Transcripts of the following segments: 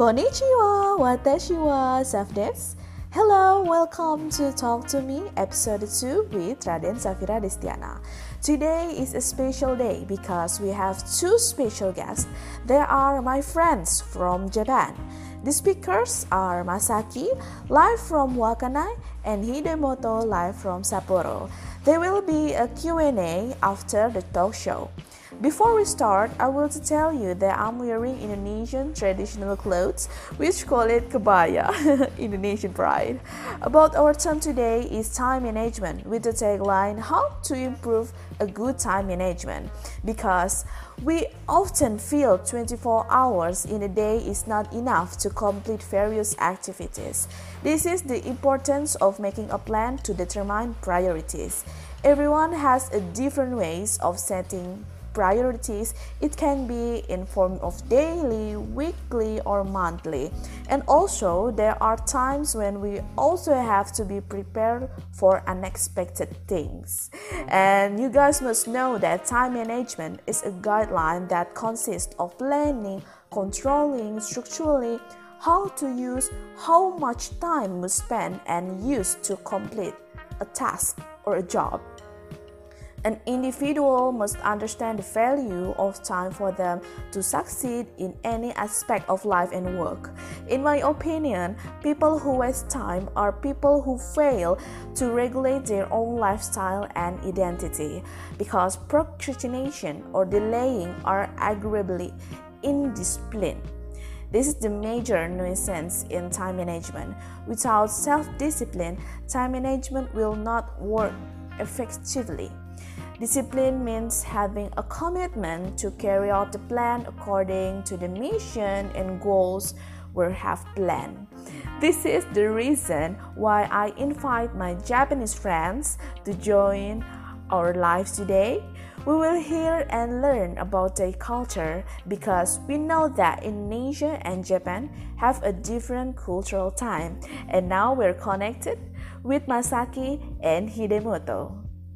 Konnichiwa, watashi wa Safdex. Hello, welcome to Talk to Me, episode 2 with Raden Safira Destiana. Today is a special day because we have two special guests. They are my friends from Japan. The speakers are Masaki, live from Wakkanai, and Hidemoto, live from Sapporo. There will be a Q&A after the talk show. Before we start, I will tell you that I'm wearing Indonesian traditional clothes, which call it kebaya, Indonesian pride. About our term today is time management, with the tagline, how to improve a good time management. Because we often feel 24 hours in a day is not enough to complete various activities. This is the importance of making a plan to determine priorities. Everyone has a different ways of setting priorities. It can be in form of daily, weekly, or monthly. And also, there are times when we also have to be prepared for unexpected things. And you guys must know that time management is a guideline that consists of planning, controlling, structurally, how to use how much time we spend and use to complete a task or a job. An individual must understand the value of time for them to succeed in any aspect of life and work. In my opinion, people who waste time are people who fail to regulate their own lifestyle and identity, because procrastination or delaying are agreeably indiscipline. This is the major nuisance in time management. Without self-discipline, time management will not work effectively. Discipline means having a commitment to carry out the plan according to the mission and goals we have planned. This is the reason why I invite my Japanese friends to join our lives today. We will hear and learn about their culture because we know that Indonesia and Japan have a different cultural time. And now we're connected with Masaki and Hidemoto.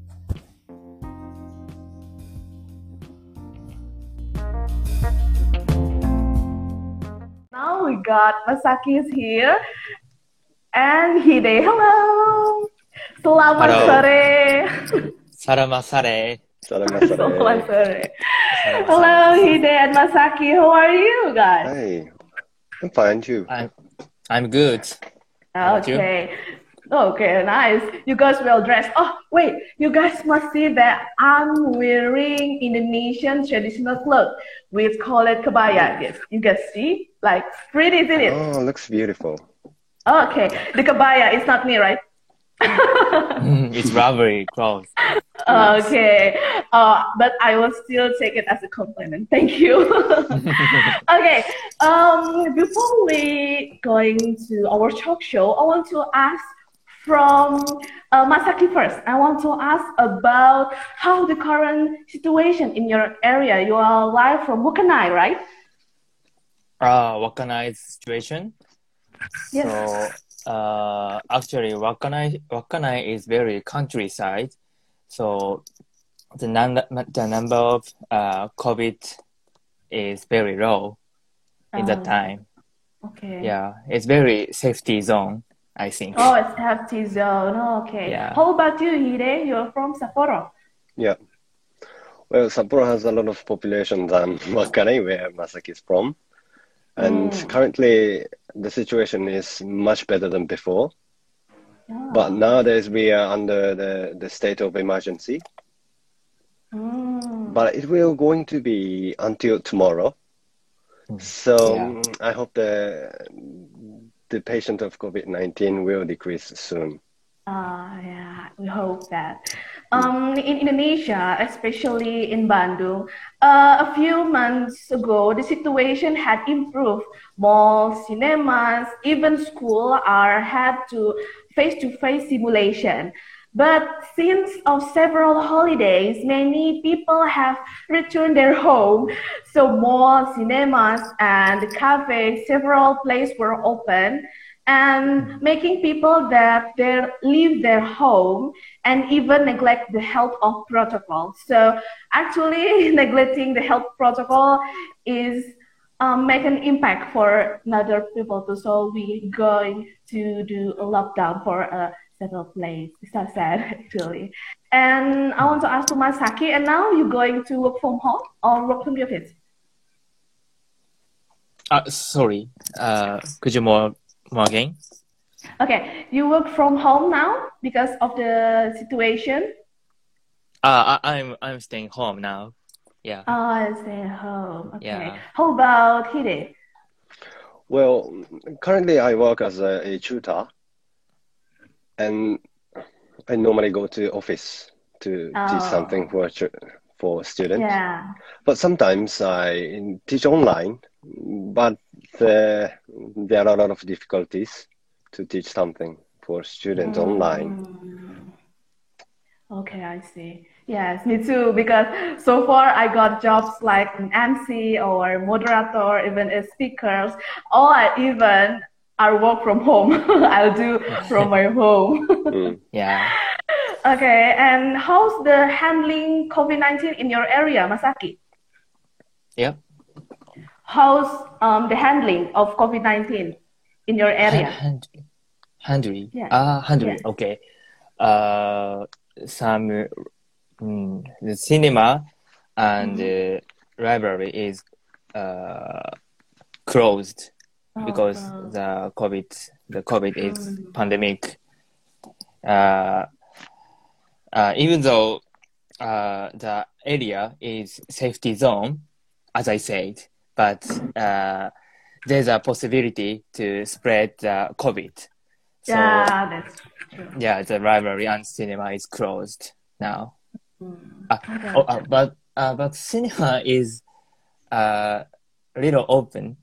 Now we got Masaki is here and Hide. Hello. Selamat Halo. sore. Selamat sore. Selamat sore. Selamat Hello sore. Hide and Masaki. How are you guys? Hey, I'm fine too. I'm good. How about you? Okay, nice. You guys well dressed. Oh, wait. You guys must see that I'm wearing Indonesian traditional clothes. We call it kebaya. Yes, you guys see? Like, pretty, isn't it? Oh, looks beautiful. Okay, the kebaya is not me, right? It's rubbery clothes. Okay, but I will still take it as a compliment. Thank you. Okay, before we going to our talk show, I want to ask from Masaki first. I want to ask about how the current situation in your area. You are live from Wakkanai, right? Wakkanai's situation. Yes. So, actually, Wakkanai is very countryside. So the number of COVID is very low in that time. Okay. Yeah, it's very safety zone, I think. Oh, it's safety zone. Okay. Yeah. How about you, Hide? You're from Sapporo. Yeah. Well, Sapporo has a lot of population than Wakkanai, where Masaki is from. And currently, the situation is much better than before. Yeah. But nowadays, we are under the state of emergency. But it will going to be until tomorrow. So I hope the patient of COVID-19 will decrease soon. Yeah, we hope that. In Indonesia, especially in Bandung, a few months ago, the situation had improved. Malls, cinemas, even school had to face-to-face simulation. But since several holidays, many people have returned their home. So malls, cinemas, and cafes, several places were open, and making people that they leave their home and even neglect the health of protocol. So actually neglecting the health protocol is make an impact for other people too. So we going to do a lockdown for a settled place. It's so sad actually. And I want to ask to Masaki, and now you're going to work from home or work from the office? Sorry. Could you more again? Okay, you work from home now because of the situation. I'm staying home now. Yeah. Oh, I stay at home. Okay. Yeah. How about Hide? Well, currently I work as a tutor, and I normally go to office to teach something for students. Yeah. But sometimes I teach online, but there are a lot of difficulties to teach something for students online. Okay, I see. Yes, me too. Because so far I got jobs like an MC or moderator, even as speakers, or even I work from home. I'll do from my home. Yeah. Okay, and how's the handling COVID-19 in your area, Masaki? Yeah. How's the handling of COVID-19 in your area? Handling. Yeah. Handling. Yeah. Okay. The cinema and the library is closed because the COVID is pandemic. Even though the area is safety zone, as I said, but there's a possibility to spread the COVID. So, yeah, that's true. Yeah, the library and cinema is closed now. But cinema is little open.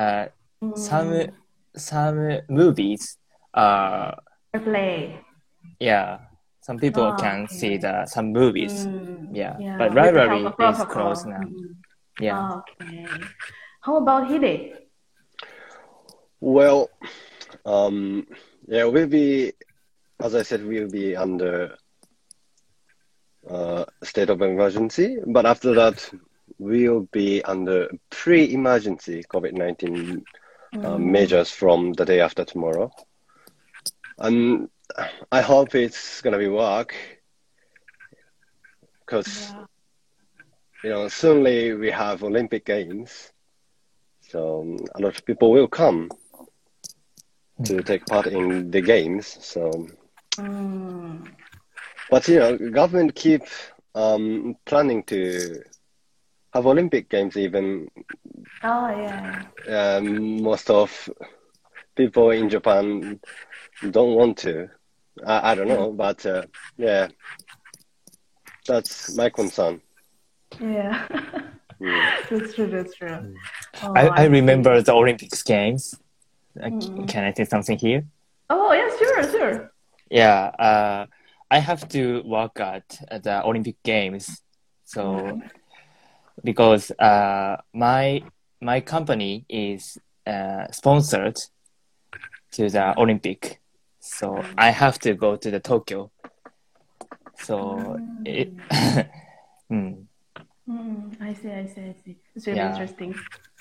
Some movies play. Yeah, some people can see some movies. Yeah, but with the library help of is protocol. closed now. Yeah. Okay. How about Hide? Well, yeah, we'll be, as I said, we'll be under state of emergency, but after that, we'll be under pre-emergency COVID-19 measures from the day after tomorrow. And I hope it's gonna be work, because soonly we have Olympic Games, so a lot of people will come to take part in the games. So, but government keep planning to have Olympic Games even. Oh yeah. Most of people in Japan don't want to. I don't know, but yeah, that's my concern. Yeah. That's true. That's true. Oh, I remember the Olympics games. Can I say something here? Oh yeah, sure. Yeah, I have to work at the Olympic Games, so because my company is sponsored to the Olympic, so I have to go to the Tokyo. So I see. It's really interesting.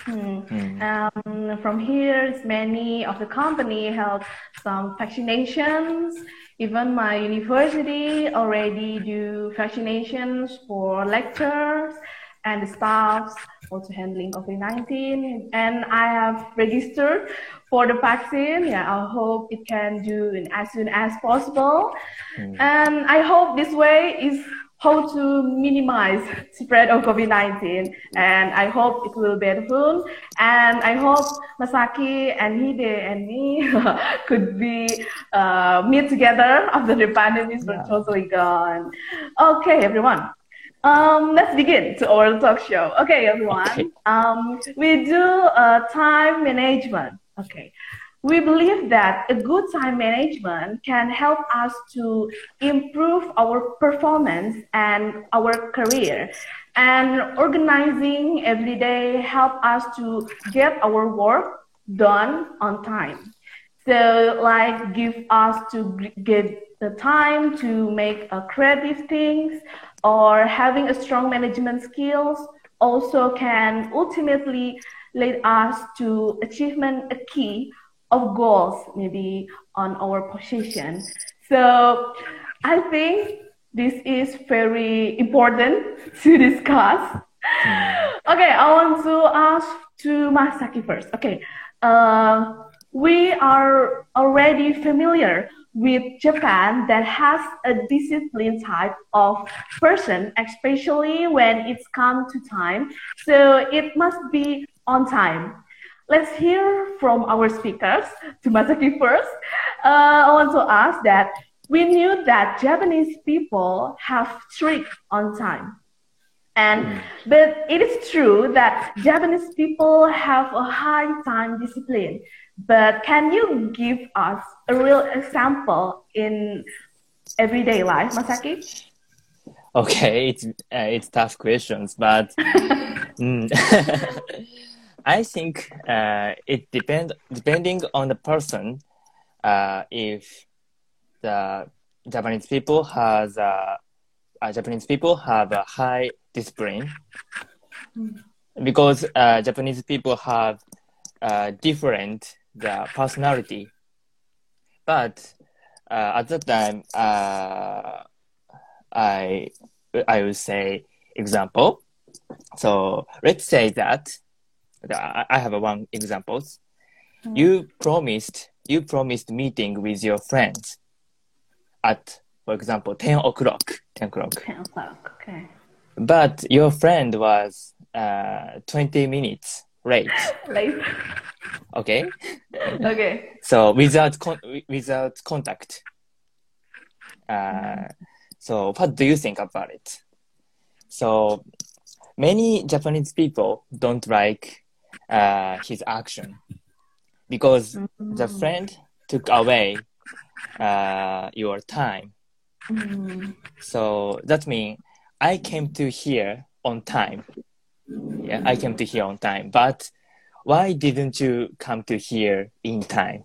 From here, many of the company held some vaccinations. Even my university already do vaccinations for lecturers and the staffs also handling COVID-19. And I have registered for the vaccine. Yeah, I hope it can do it as soon as possible. And I hope this way is how to minimize spread of COVID-19, and I hope it will be helpful. And I hope Masaki and Hide and me could be meet together after the pandemic is totally gone. Okay, everyone. Let's begin to our talk show. Okay, everyone. Okay. We do time management. Okay. We believe that a good time management can help us to improve our performance and our career. And organizing every day help us to get our work done on time. So like give us to get the time to make creative things, or having a strong management skills also can ultimately lead us to achievement a key of goals, maybe on our position. So I think this is very important to discuss. Okay, I want to ask to Masaki first. Okay, we are already familiar with Japan that has a disciplined type of person, especially when it's come to time. So it must be on time. Let's hear from our speakers. To Masaki first. I want to ask that we knew that Japanese people have strict on time. But it is true that Japanese people have a high time discipline. But can you give us a real example in everyday life, Masaki? Okay, it's tough questions, but I think it depending on the person. If the Japanese people have a high discipline, because Japanese people have different the personality, but at that time I would say example. So let's say that I have one example. You promised meeting with your friends at, for example, 10 o'clock. 10 o'clock, okay. But your friend was 20 minutes late. Okay? Okay. So without contact. So what do you think about it? So many Japanese people don't like his action because the friend took away your time. So that means I came to here on time. Yeah, I came to here on time. But why didn't you come to here in time?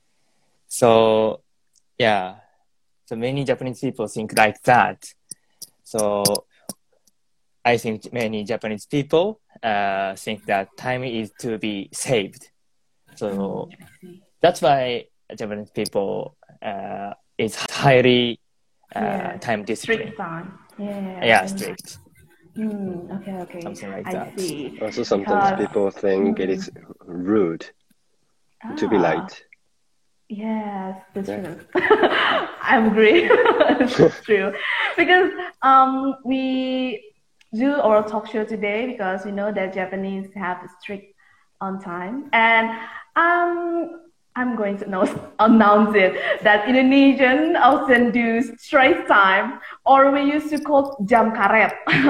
So yeah, so many Japanese people think like that. So I think many Japanese people think that time is to be saved. So that's why Japanese people is highly time discipline. Strict time. Yeah, strict. Okay. Something like I that. see. Also, sometimes people think it is rude to be late. Yes, that's true. I agree. It's true. Because we do our talk show today because we know that Japanese have strict on time. And I'm going to announce it that Indonesian often do straight time, or we used to call jam karet,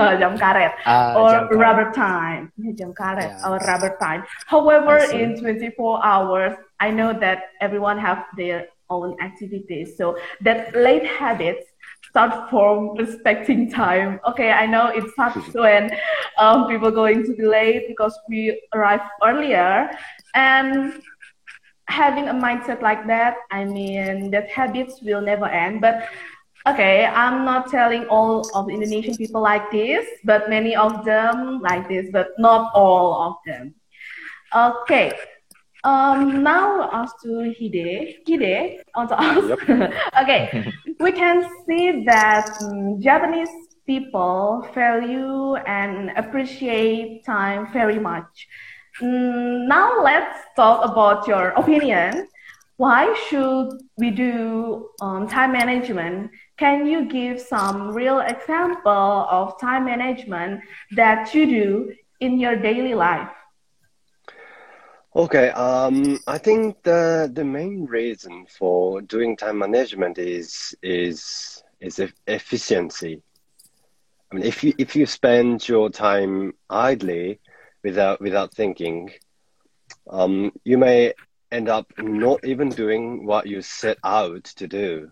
or jam karet. rubber time, jam karet, or rubber time. However, in 24 hours, I know that everyone have their own activities, so that late habits start from respecting time. Okay, I know it starts when people going to be late because we arrive earlier, and having a mindset like that, I mean, that habits will never end. But okay, I'm not telling all of Indonesian people like this, but many of them like this, but not all of them. Okay. Now as to Hide, on to ask. Okay, we can see that Japanese people value and appreciate time very much. Now let's talk about your opinion. Why should we do time management? Can you give some real example of time management that you do in your daily life? Okay, I think the main reason for doing time management is efficiency. I mean, if you spend your time idly without thinking, you may end up not even doing what you set out to do.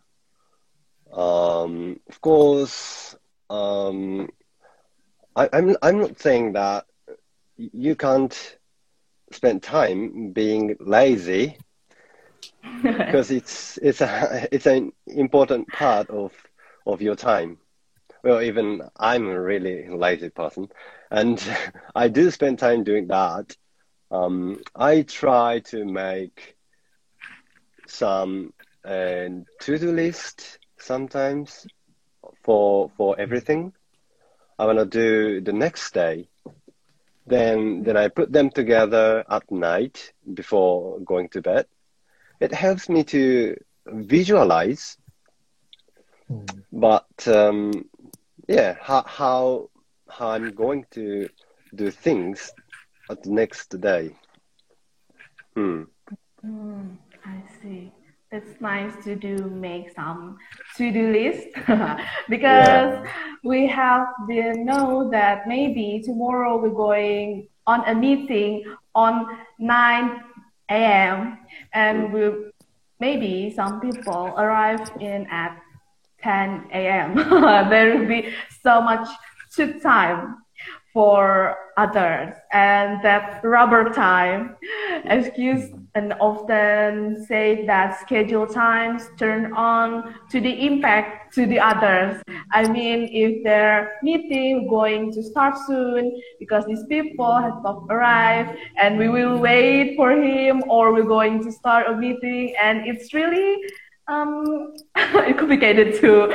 Of course, I'm not saying that you can't spend time being lazy, because it's an important part of your time. Well, even I'm a really lazy person, and I do spend time doing that. I try to make some to-do list sometimes for everything I want to do the next day. Then I put them together at night before going to bed. It helps me to visualize, but yeah, how I'm going to do things at the next day. I see. It's nice to make some to-do list because we have been know that maybe tomorrow we're going on a meeting on 9 a.m. and maybe some people arrive in at 10 a.m. There will be so much took time for others, and that rubber time excuse and often say that schedule times turn on to the impact to the others. I mean, if their meeting going to start soon because these people have not arrived and we will wait for him, or we're going to start a meeting and it's really complicated to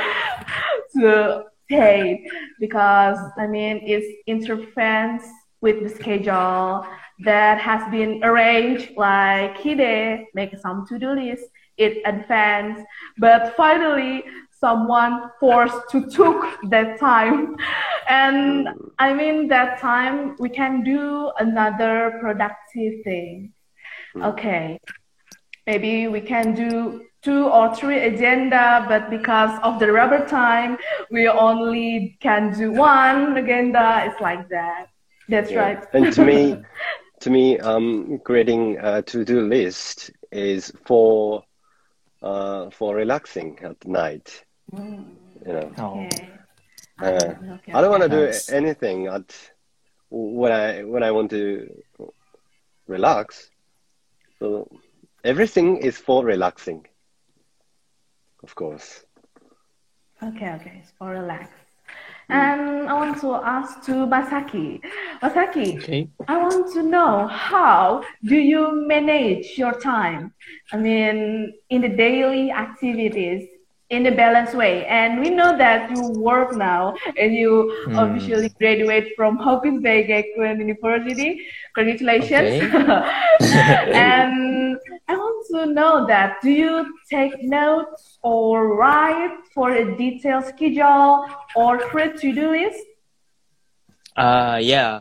say, because I mean it interferes with the schedule that has been arranged, like Hide make some to-do list in advance, but finally someone forced to took that time, and I mean that time we can do another productive thing. Okay, maybe we can do 2 or 3 agenda, but because of the rubber time, we only can do 1 agenda. It's like that. That's right. And to me, creating a to-do list is for relaxing at night. You know. Okay. I don't want to do anything when I want to relax. So everything is for relaxing, of course. Okay, it's for relax. And I want to ask to Masaki. Masaki, I want to know, how do you manage your time? I mean, in the daily activities, in a balanced way. And we know that you work now and you officially graduate from Hopkins Bay Gakuen University. Congratulations. And I want to know that, do you take notes or write for a detailed schedule or create to-do list? Yeah.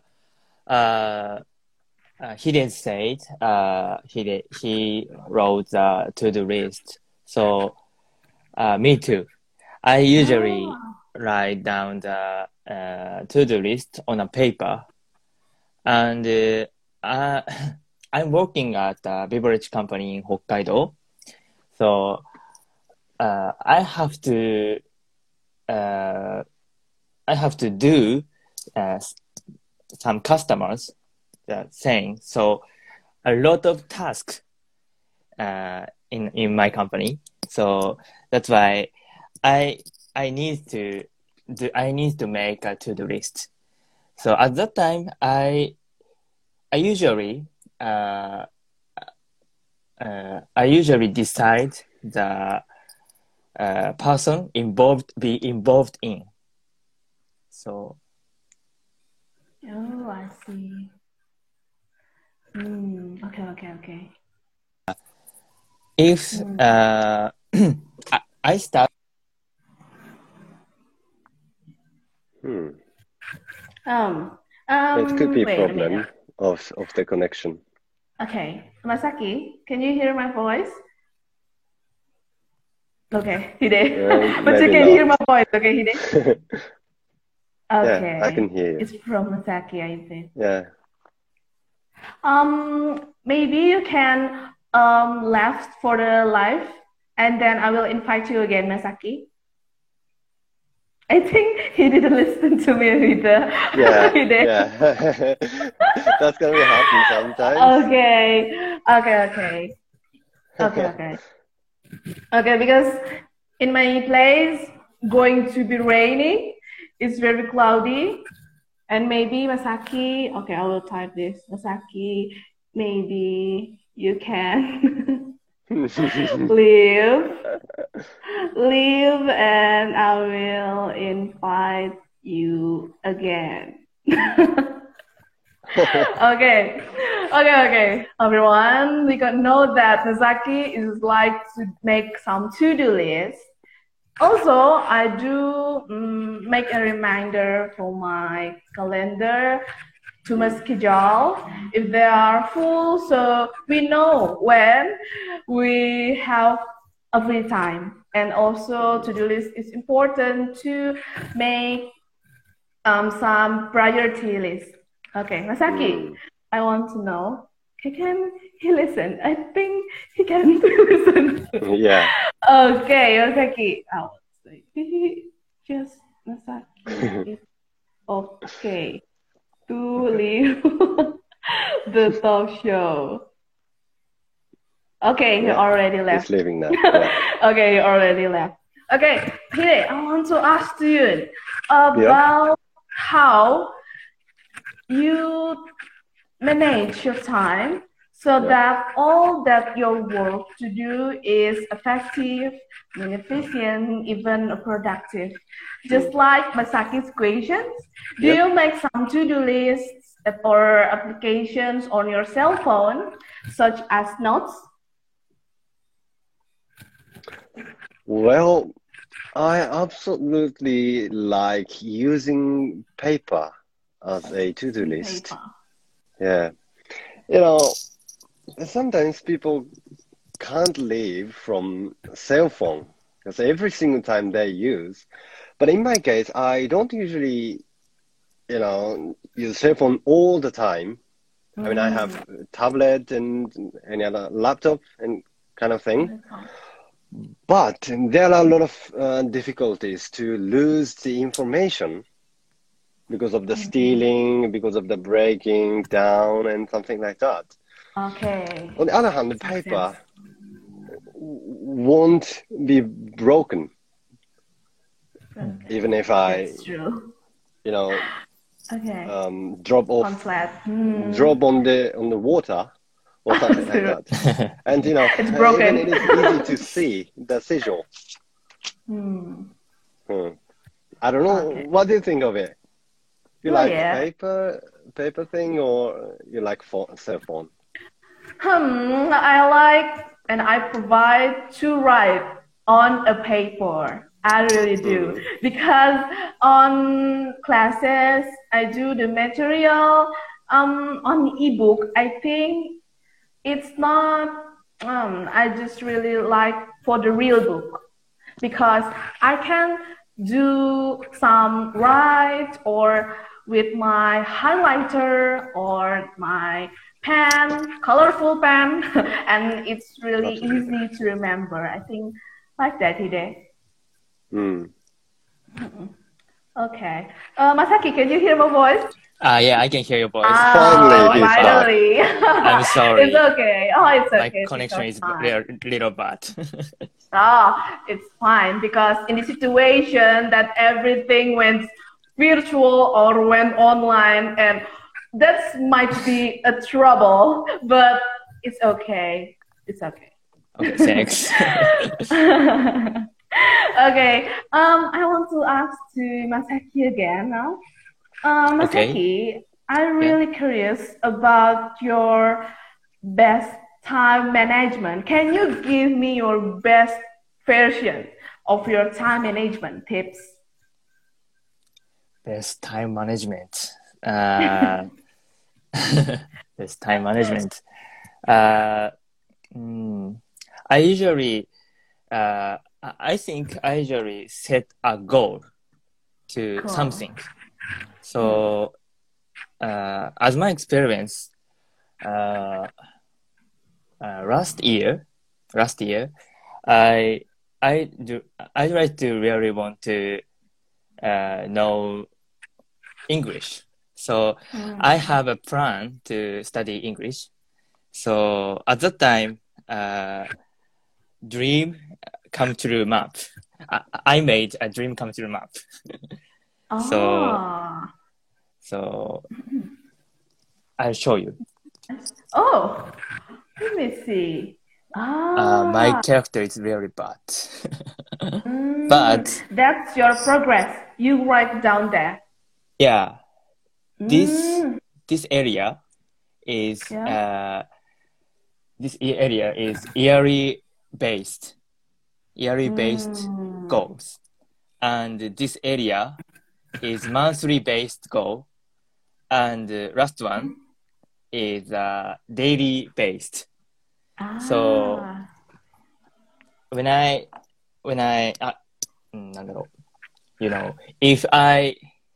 He didn't say it. He wrote the to-do list. So me too. I usually write down the to-do list on a paper, and I'm working at a beverage company in Hokkaido, so I have to do some customers saying, so a lot of tasks in my company. So that's why I need to make a to-do list. So at that time, I usually decide the person be involved in. So. Oh, I see. Okay. If I start. It could be a problem of the connection. Okay, Masaki, can you hear my voice? Okay, Hide. But you can hear my voice, okay, Hide? Okay. Yeah, I can hear you. It's from Masaki, I think. Yeah. Maybe you can left for the live, and then I will invite you again, Masaki. I think he didn't listen to me either. Yeah. That's gonna happen sometimes. Okay, because in my place going to be raining. It's very cloudy, and maybe Masaki. Okay, I will type this. Masaki maybe you can leave, and I will invite you again. Okay, everyone, we can know that Masaki is like to make some to-do lists. Also, I do make a reminder for my calendar to my schedule if they are full, so we know when we have a free time. And also, to-do list is important to make some priority list. Okay, Masaki, I want to know, can he listen? I think he can listen. Yeah. Okay, Masaki. Oh, just Masaki is okay to leave the talk show. Okay, he already left. He's leaving now. Yeah. Okay, he already left. Okay, Hide, I want to ask you about how you manage your time so that all that your work to do is effective, efficient, even productive. Just like Masaki's questions, do you make some to-do lists or applications on your cell phone, such as notes? Well, I absolutely like using paper as a to-do list. Yeah. You know, sometimes people can't live from cell phone because every single time they use. But in my case, I don't usually, use cell phone all the time. I mean, I have a tablet and any other laptop and kind of thing. But there are a lot of difficulties to lose the information because of the stealing, because of the breaking down and something like that. Okay. On the other hand, the paper won't be broken. Even if I, drop on the water or something like that. And it's broken. Even it is easy to see the sigil. I don't know. Okay. What do you think of it? You like paper thing, or you like cell phone? I like and I provide to write on a paper. I really do, because on classes I do the material on ebook. I think it's not. I just really like for the real book, because I can do some write or with my highlighter or my pen, colorful pen, and it's really easy to remember. I think like that, Hide. Okay. Masaki, can you hear my voice? Yeah, I can hear your voice. Finally. I'm sorry. It's okay. Oh, it's okay. My connection is little bad. It's fine, because in the situation that everything went virtual or went online, and that might be a trouble, but it's okay. It's okay. Okay, thanks. Okay. I want to ask to Masaki again now. Masaki, I'm really curious about your best time management. Can you give me your best version of your time management tips? Best time management. Best time management. I think I usually set a goal to something. So, as my experience, last year, I try to really want to know English. So I have a plan to study English. So at that time, dream come true map. I made a dream come true map. So I'll show you. Oh, let me see. My character is very bad. But That's your progress. You write down there. yeah, this area is Yeah. yearly based goals, and this area is monthly based goal, and last one is daily based. So when I if I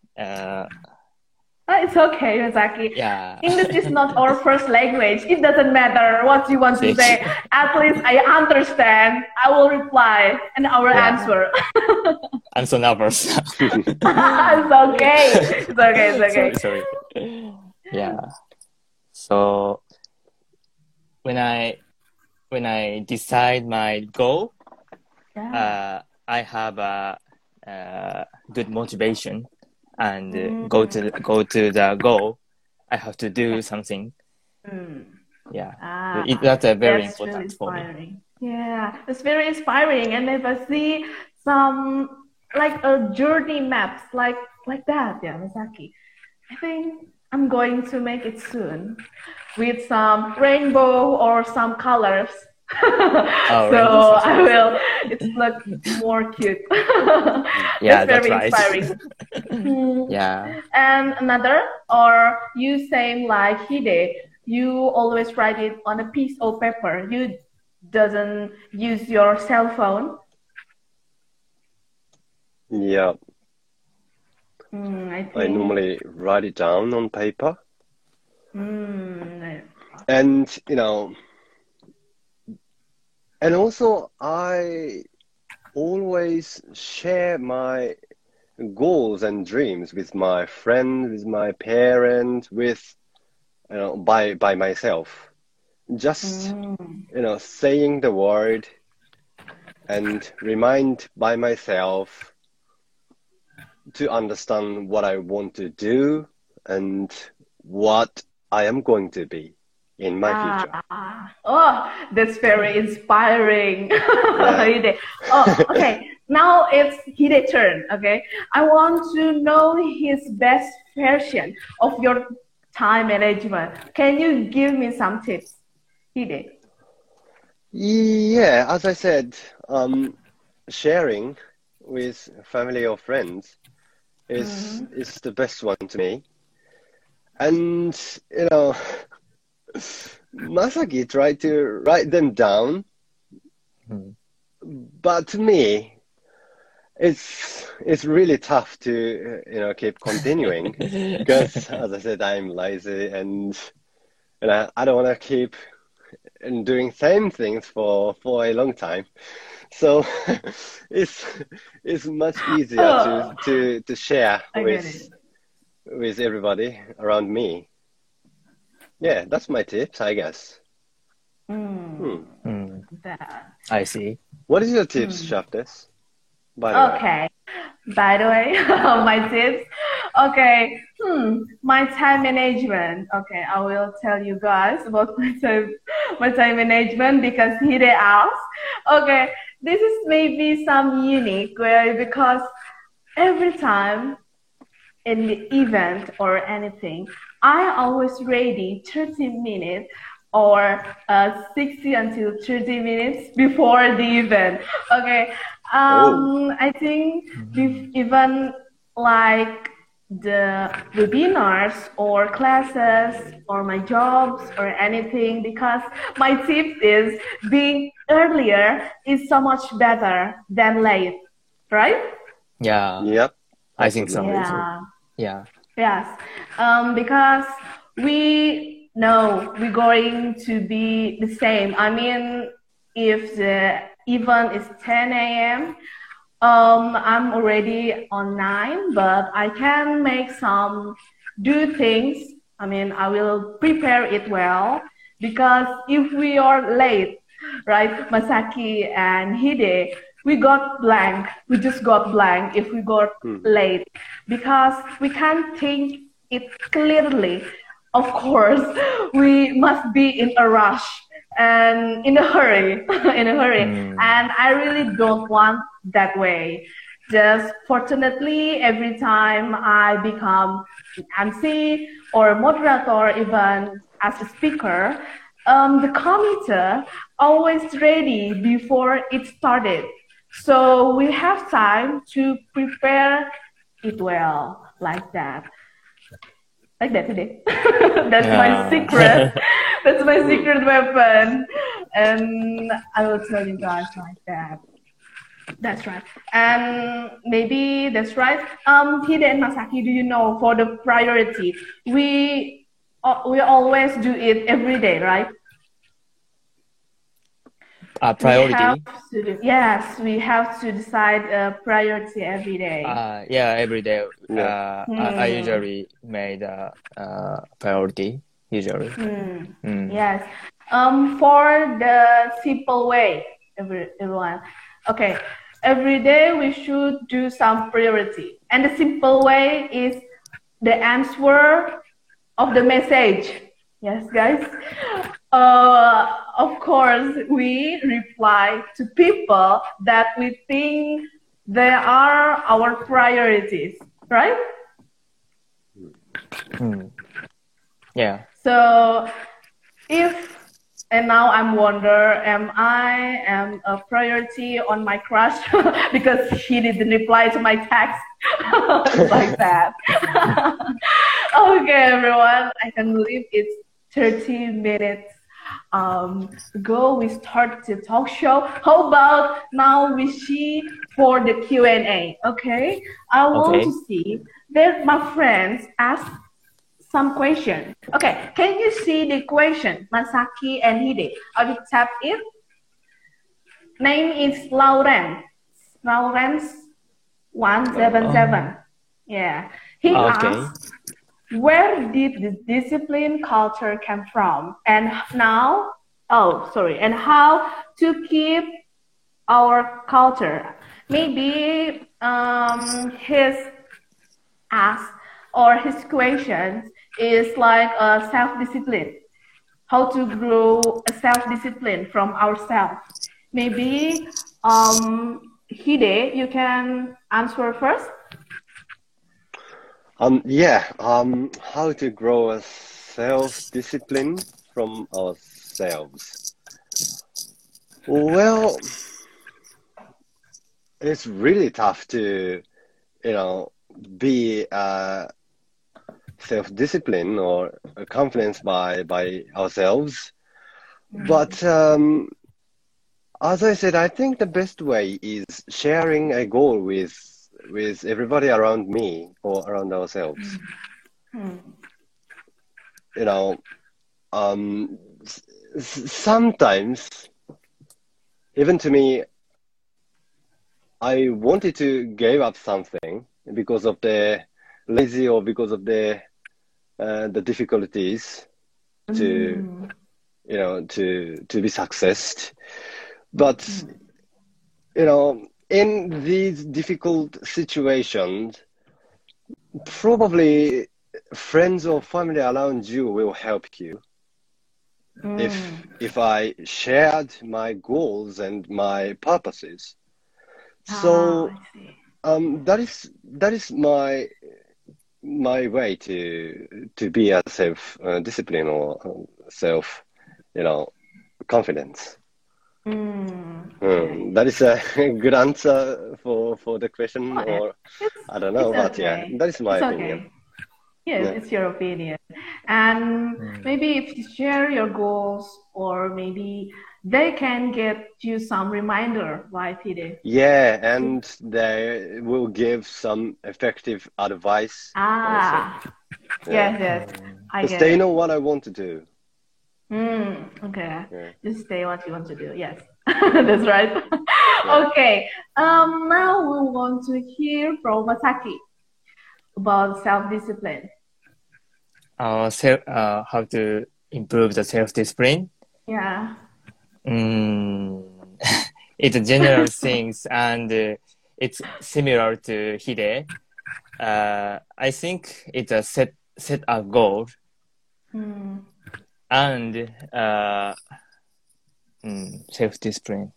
It's okay, Yosaki. yeah English is not our first language. It doesn't matter what you want to say. At least I understand. I will reply and I will answer. I'm so nervous. It's okay. It's okay. It's okay. Sorry. Yeah. So when I decide my goal, Yeah. I have a good motivation and go to the goal. I have to do something. Yeah, that's a very That's important really for me. inspiring. Yeah, it's very inspiring. And if I see some like a journey maps like that, yeah, Masaki, I think I'm going to make it soon with some rainbow or some colors. So rainbow I will. It's look more cute. Yeah, That's very that's right. inspiring. Yeah. And another, or you same like Hide, you always write it on a piece of paper. You doesn't use your cell phone. Yeah, I I think. normally write it down on paper. Mm, And, and also I always share my goals and dreams with my friends, with my parents, with, by myself. Just, saying the word and remind by myself to understand what I want to do and what I am going to be in my future. Oh, that's very inspiring. Yeah. Hide. Oh, okay. Now it's Hide's turn. Okay, I want to know his best version of your time management. Can you give me some tips, Hide? Yeah, as I said, sharing with family or friends is the best one to me. And Masaki tried to write them down, but to me, it's really tough to keep continuing because, as I said, I'm lazy and I don't want to keep doing same things for a long time. So it's much easier to share with everybody around me. Yeah, that's my tips, I guess. I see. What is your tips, Shaftes? By the way. Okay. By the way, my tips. Okay. My time management. Okay, I will tell you guys about my time management because Hide asked. Okay, this is maybe some unique way because every time in the event or anything, I always ready 30 minutes or 60 until 30 minutes before the event. Okay. I think even like the webinars or classes or my jobs or anything, because my tip is being earlier is so much better than late, right? Yeah. Yep. I think so. Yeah. Yeah. Yes, because we know we're going to be the same. I mean, if the event is 10 a.m., I'm already on 9, but I can make do things. I mean, I will prepare it well because if we are late, right, Masaki and Hide, we got blank. We just got blank if we got late because we can't think it clearly. of course, we must be in a rush and in a hurry, in a hurry. And I really don't want that way. Just fortunately, every time I become an MC or moderator, even as a speaker, the committee always ready before it started. So we have time to prepare it well, like that. Like that today. That's my secret. That's my secret weapon. And I will tell you guys like that. That's right. And maybe that's right. Hide and Masaki, do you know for the priority, we always do it every day, right? Priority? Yes, we have to decide a priority every day. Yeah, every day. I usually made a priority, usually. Yes. For the simple way, everyone. Okay, every day we should do some priority. And the simple way is the answer of the message. Yes, guys. Of course, we reply to people that we think they are our priorities, right? Yeah. So and now I'm wonder, am I a priority on my crush because he didn't reply to my text like that. Okay, everyone, I can believe it's 30 minutes ago we started the talk show. How about now we see for the Q&A? Okay, I want to see that my friends ask some question. Okay, can you see the question, Masaki and Hide? I will tap it. Name is Lawrence. Lawrence 177. Yeah. He asked, where did the discipline culture come from? And how to keep our culture? Maybe his ask or his question is like a self-discipline. How to grow a self-discipline from ourselves. Maybe Hide, you can answer first. How to grow a self-discipline from ourselves. Well, it's really tough to, be self-discipline or confidence by ourselves. But as I said, I think the best way is sharing a goal with everybody around me or around ourselves. Sometimes, even to me, I wanted to give up something because of the lazy or because of the difficulties to be successful. But in these difficult situations, probably friends or family around you will help you. If I shared my goals and my purposes. So that is my way to be a self discipline or self confidence. That is a good answer for the question, or I don't know, but yeah, that is my opinion. Yes, it's your opinion. And maybe if you share your goals, or maybe they can get you some reminder, right, Hide? Yeah, and they will give some effective advice. Yes. They know what I want to do. Okay. Yeah. Just say what you want to do. Yes, that's right. Okay. Now we want to hear from Masaki about self-discipline. How to improve the self-discipline? Yeah. It's general things, and it's similar to Hide. I think it's a set a goal and self-discipline.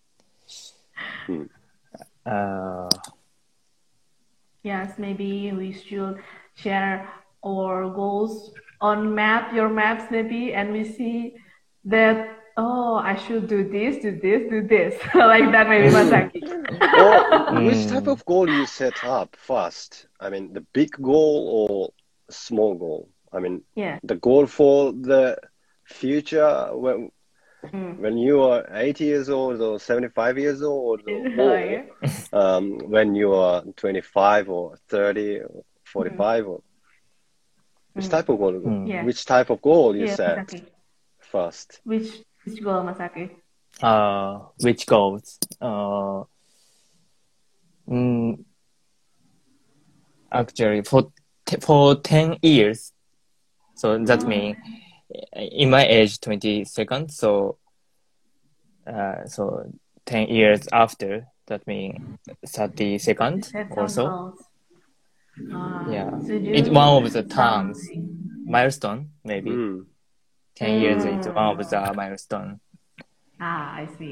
Yes, maybe we should share our goals on your maps maybe, and we see that, oh, I should do this, like that maybe, Masaki. Or which type of goal you set up first? I mean, the big goal or small goal? I mean, the goal for the future when you are 80 years old or 75 years old, or when you are 25 or 30 or 45, or which type of goal? Which type of goal you set Masaki. first? Which goal, Masaki? Which goals? Actually, for 10 years. So that means in my age 22nd. So 10 years after, that means 32nd also. Yeah, it's one of the terms, milestone maybe. 10 years is one of the milestone. I see.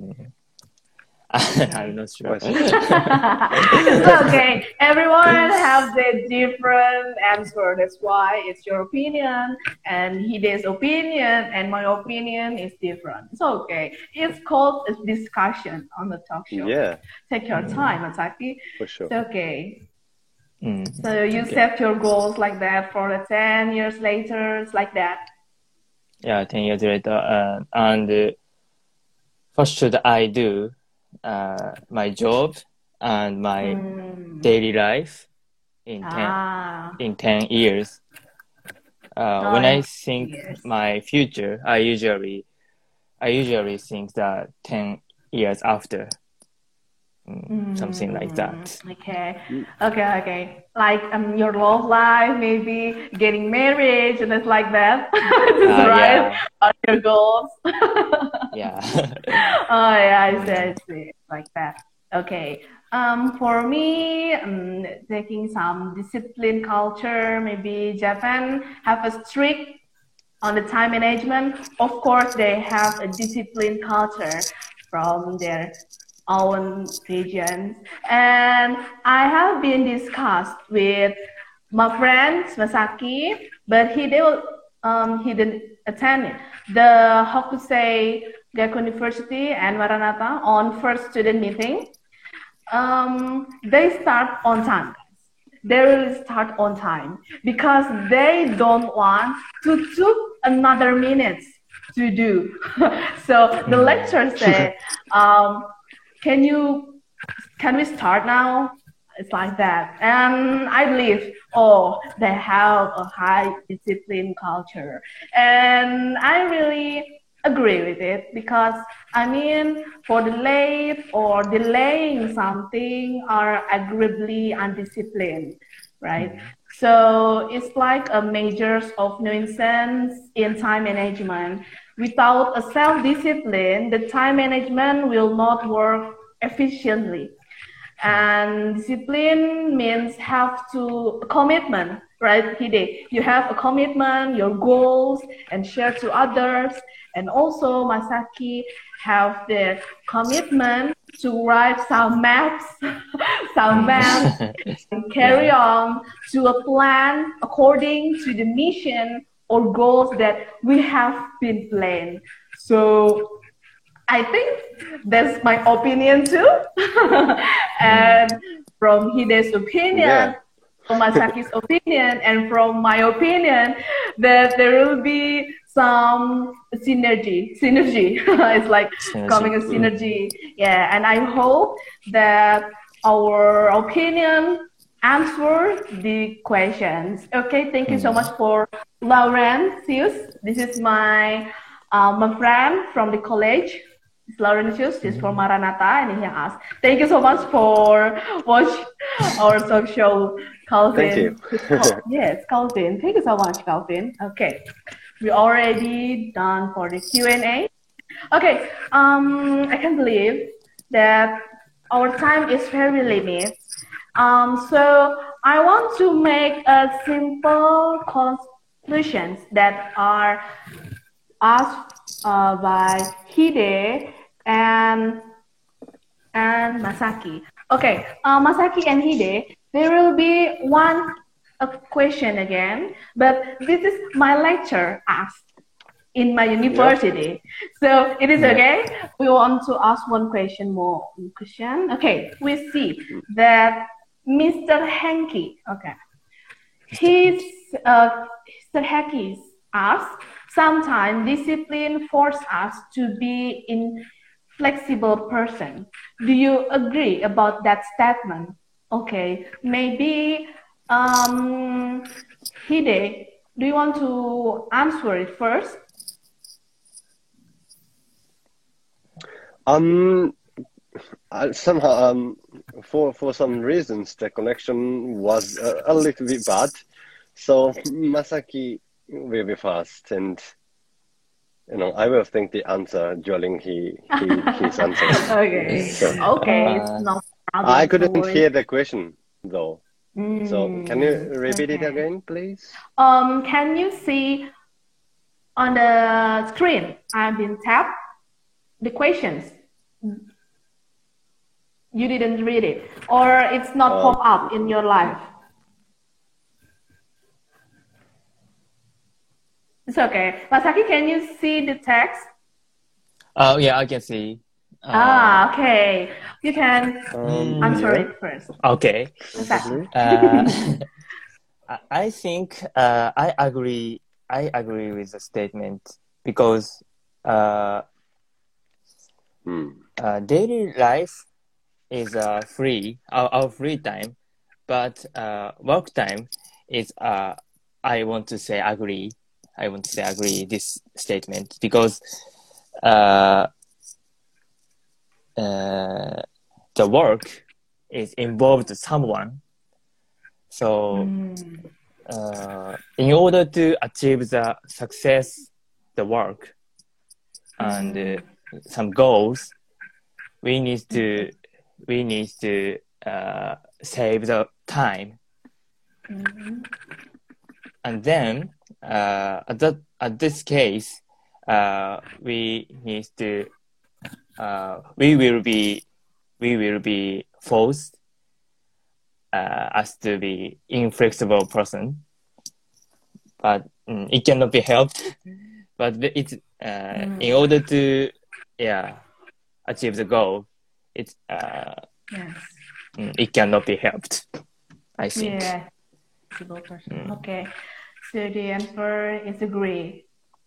I'm not sure. It's okay. Everyone has a different answer. That's why it's your opinion and Hide's opinion and my opinion is different. It's okay. It's called a discussion on the talk show. Yeah. Take your time, Masaki. For sure. It's okay. So you set your goals like that for the 10 years later. It's like that. Yeah, 10 years later. And first should I do my job and my daily life in 10 years. When I think my future, I usually think that 10 years after, something like that. Okay. Like your love life, maybe getting married and it's like that. Right? On your goals. Yeah. Oh yeah, I see. Like that. Okay. For me, taking some discipline culture, maybe Japan have a strict on the time management. Of course, they have a discipline culture from their own regions. And I have been discussed with my friend Masaki, but he didn't attend it. The Hokusei Gakuin University and Maranatha on first student meeting. They start on time. They will start on time because they don't want to took another minute to do. So the lecturer said, can we start now? It's like that. And I believe, they have a high discipline culture. And I really agree with it because, for the late or delaying something are agreeably undisciplined, right? So it's like a measures of nuisance in time management. Without a self-discipline, the time management will not work efficiently. And discipline means commitment, right, Hide? You have a commitment, your goals, and share to others. And also Masaki have the commitment to write some maps, and carry on to a plan according to the mission or goals that we have been planned. So I think that's my opinion too. And from Hide's opinion, from Masaki's opinion, and from my opinion, that there will be some synergy. It's like coming a synergy. Yeah, and I hope that our opinion answer the questions. Okay, thank you so much for Laurentius. This is my friend from the college. It's Laurentius. He's from Maranatha, and he asked, "Thank you so much for watching our talk show, Calvin." Thank you. Yes, Calvin. Thank you so much, Calvin. Okay, we already done for the Q&A. Okay, I can believe that our time is very limited. So I want to make a simple questions that are asked by Hide and Masaki. Okay, Masaki and Hide, there will be one question again, but this is my lecture asked in my university. So it is okay. We want to ask one question more. Okay, we see that Mr. Henke. Okay, Mr. Henke asks, sometimes discipline force us to be inflexible person. Do you agree about that statement? Okay, maybe Hide, do you want to answer it first? Somehow, for some reasons, the connection was a little bit bad. So Masaki will be first, and I will think the answer during his answer. Okay. So, okay, it's no problem. I couldn't hear the question though. So can you repeat it okay. again, please? Can you see on the screen? I've been tapped the questions. You didn't read it, or it's not pop up in your life. It's okay. Masaki, can you see the text? Oh, yeah, I can see. Okay. You can answer it first. Okay. Exactly. I think I agree with the statement because daily life is free, our free time, but work time is I want to say agree this statement because the work is involved someone. So in order to achieve the success, the work and some goals, we need to save the time. And then at this case, we will be forced as to be inflexible person, but it cannot be helped. But it's in order to achieve the goal, it's it cannot be helped, I think. Yeah, flexible person. Okay, so the answer is agree.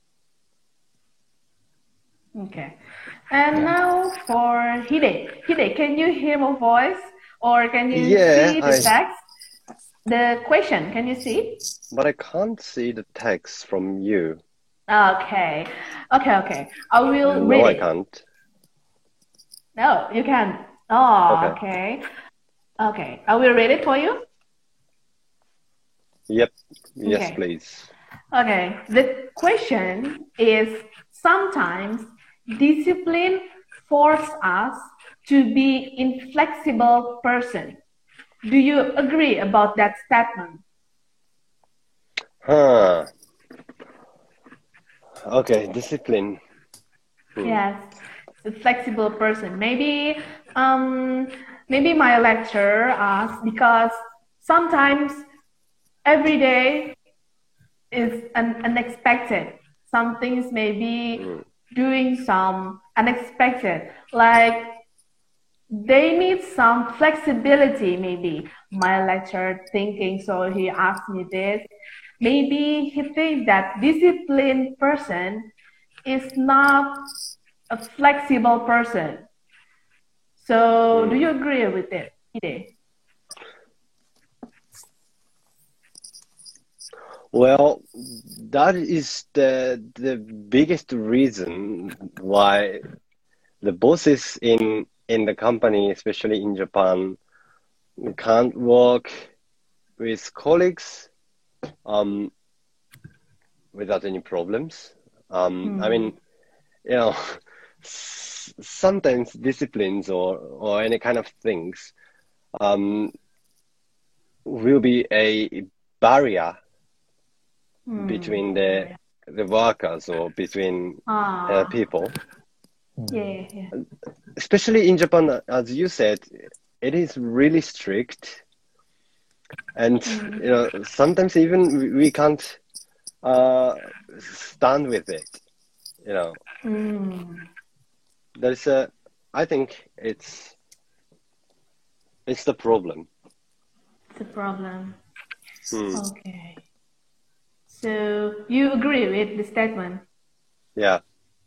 Okay, and now for Hide. Hide, can you hear my voice, or can you see the text? The question, can you see? But I can't see the text from you. Okay. I will read it. No, I can't. No, you can. Oh, okay. Okay, I will read it for you. Yep. Yes, please. Okay. The question is, sometimes discipline forces us to be inflexible person. Do you agree about that statement? Okay, discipline. Yes, a flexible person. Maybe my lecturer asked because sometimes every day is unexpected. Some things may be doing some unexpected, like they need some flexibility. Maybe my lecturer thinking, so he asked me this. Maybe he thinks that disciplined person is not a flexible person. So do you agree with it, Hide? Well, that is the biggest reason why the bosses in the company, especially in Japan, can't work with colleagues without any problems. I mean, sometimes disciplines or any kind of things will be a barrier between the workers or between people. Yeah, yeah. Especially in Japan, as you said, it is really strict, and sometimes even we can't stand with it. There's I think it's the problem. It's a problem. Okay. So you agree with the statement? Yeah.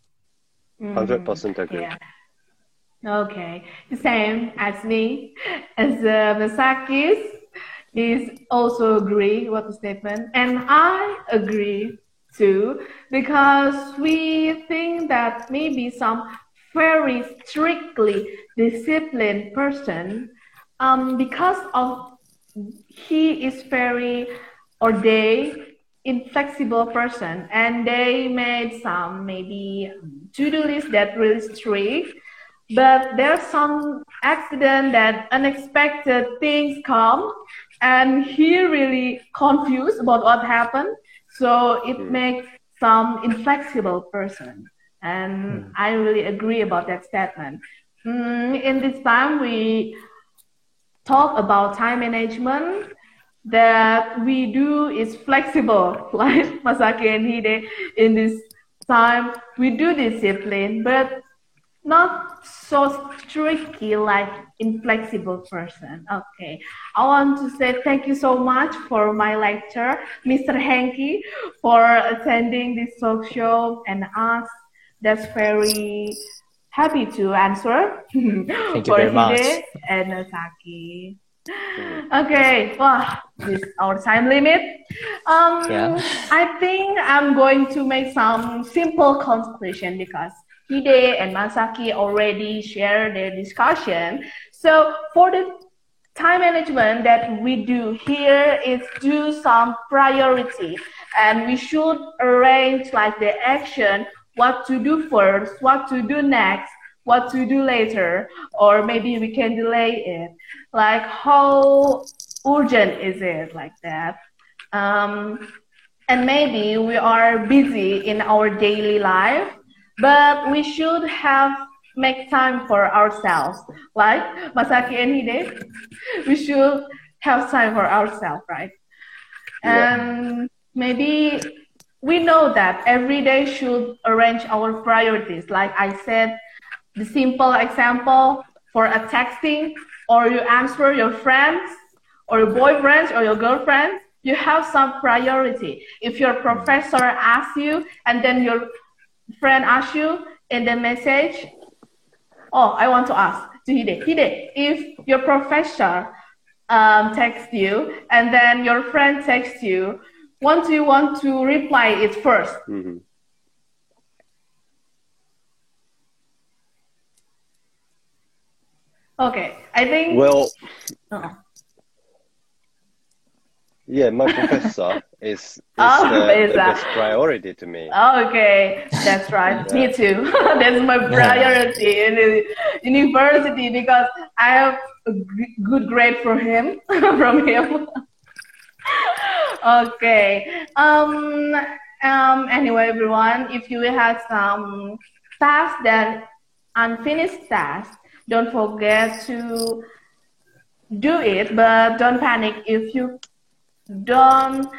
100% agree. Yeah. Okay. The same as me. As Masakis is also agree with the statement. And I agree too, because we think that maybe some very strictly disciplined person, because of he is very, or they inflexible person, and they made some maybe to-do list that really strict, but there's some accident that unexpected things come, and he really confused about what happened, so it makes some inflexible person, and I really agree about that statement. In this time we talk about time management. That we do is flexible, like Masaki and Hide. In this time, we do discipline, but not so tricky like inflexible person. Okay, I want to say thank you so much for my lecture, Mr. Henki, for attending this talk show, and us. That's very happy to answer Thank you for very much. Hide and Masaki. Okay, well, this is our time limit. I think I'm going to make some simple conclusion because Hide and Masaki already shared their discussion. So for the time management that we do here is do some priority, and we should arrange like the action, what to do first, what to do next, what to do later, or maybe we can delay it. Like how urgent is it, like that. And maybe we are busy in our daily life, but we should make time for ourselves. Like Masaki and Hide, we should have time for ourselves, right? Yeah. And maybe we know that every day should arrange our priorities. Like I said, the simple example for a texting, or you answer your friends or your boyfriends or your girlfriends, you have some priority. If your professor asks you and then your friend asks you in the message, oh, I want to ask to Hide, if your professor texts you and then your friend texts you, what do you want to reply it first? Okay, I think. Well, yeah, my professor is the best priority to me. Okay, that's right. Me too. That's my priority in the university because I have a good grade from him. Okay. Anyway, everyone, if you have some tasks that unfinished tasks, don't forget to do it, but don't panic if you don't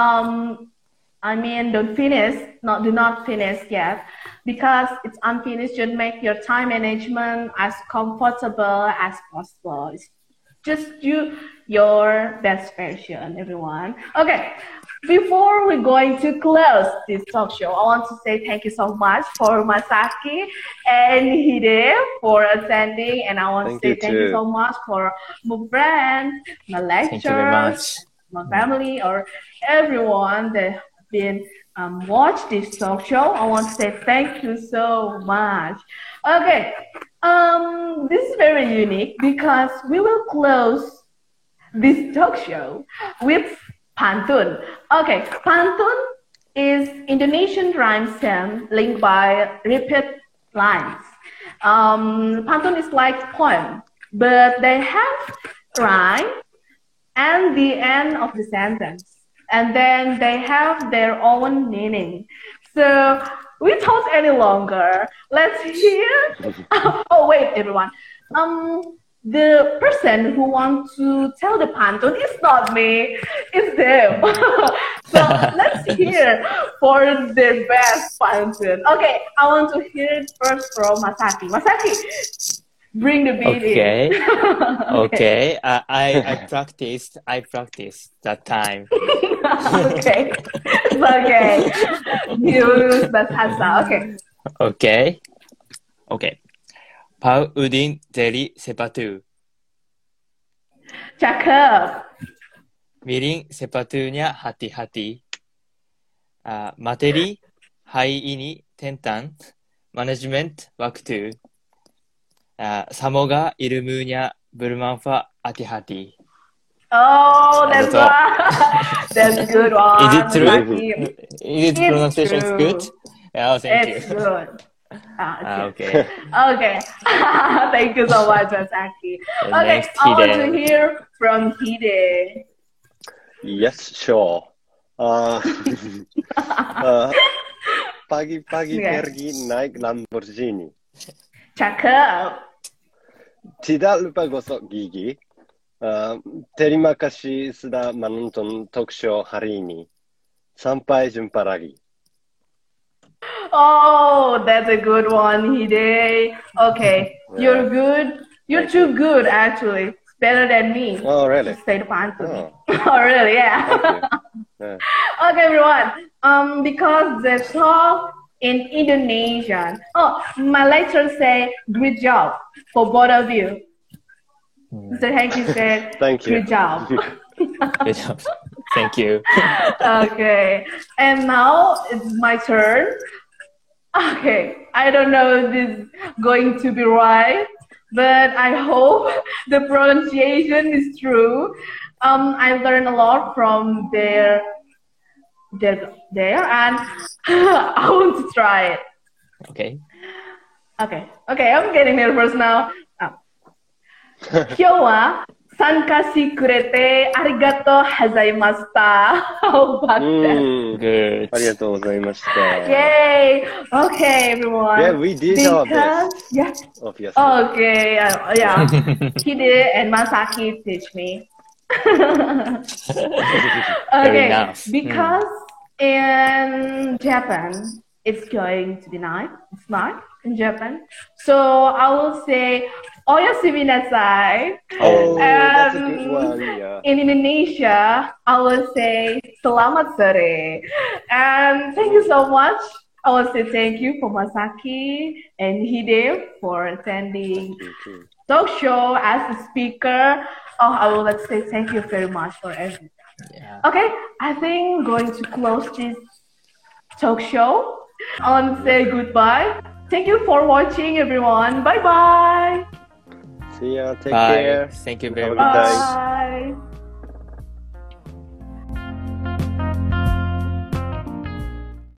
do not finish yet, because it's unfinished. Just make your time management as comfortable as possible. Just do your best version, everyone. Okay, before we're going to close this talk show, I want to say thank you so much for Masaki and Hide for attending, and I want to say thank you so much for my friends, my lecturers, my family, or everyone that been watch this talk show. I want to say thank you so much. Okay, this is very unique because we will close this talk show with pantun. Okay, pantun is Indonesian rhyme stem linked by repeat lines. Pantun is like poem, but they have rhyme and the end of the sentence. and then they have their own meaning. So we don't any longer. Let's hear. Oh wait, everyone. The person who wants to tell the pantun is not me, it's them. So let's hear for their best pantun. Okay, I want to hear it first from Masaki. Masaki, bring the beat Okay. in. Okay. I practiced that time. Okay, it's okay. Use bahasa. Okay. Okay. Okay. Pau udin jeli sepatu. Cakep. Miring sepatunya hati-hati. Materi hari ini tentang manajemen waktu. Semoga ilmunya bermanfaat hati-hati. Oh, that's That's all. that's good one. Is it true? Masaki. Is It's pronunciation true. good? Oh, thank It's you. good. Okay. Okay. Okay. Thank you so much, Masaki. Okay, Next, I want to Hide. hear from Hide. Yes, sure. Pagi-pagi Yes. pergi naik Lamborghini. Cakep. Tidak lupa gosok gigi. Terima kasih sudah menonton talk show hari ini. Sampai jumpa lagi. Oh, that's a good one, Hide. Okay, you're good. You're too good, actually. It's better than me. Oh, really? Say the pantun. Oh, Oh, really? Yeah. thank you. Yeah. Okay, everyone. Because they talk in Indonesian. Oh, my lecturer say, "Great job" for both of you. Mr. Hanky said, Thank you. "Good job." Good job. Thank you. Okay, and now it's my turn. Okay, I don't know if this is going to be right, but I hope the pronunciation is true. I learned a lot from there, and I want to try it. Okay. Okay, I'm getting nervous now. Hyowa, sankasi kurete arigato hazaimashita. How about that? Good. ありがとうございました。 Yay! Okay, everyone. Yeah, we did our Because, best. yeah. Obviously. Okay, yeah. Hide and Masaki teach me. Okay, nice. because in Japan, it's going to be night. It's night in Japan. So I will say, oyasumi nasai. Oh, that's a Um, good one. Yeah. In Indonesia, I will say selamat sore. And thank you so much. I will say thank you for Masaki and Hide for attending talk show as a speaker. Oh, I will let's say thank you very much for everything. Yeah. Okay, I think going to close this talk show. I want to say goodbye. Thank you for watching, everyone. Bye bye. See ya. Take Bye. care. Thank you very Have a good much. day. Bye.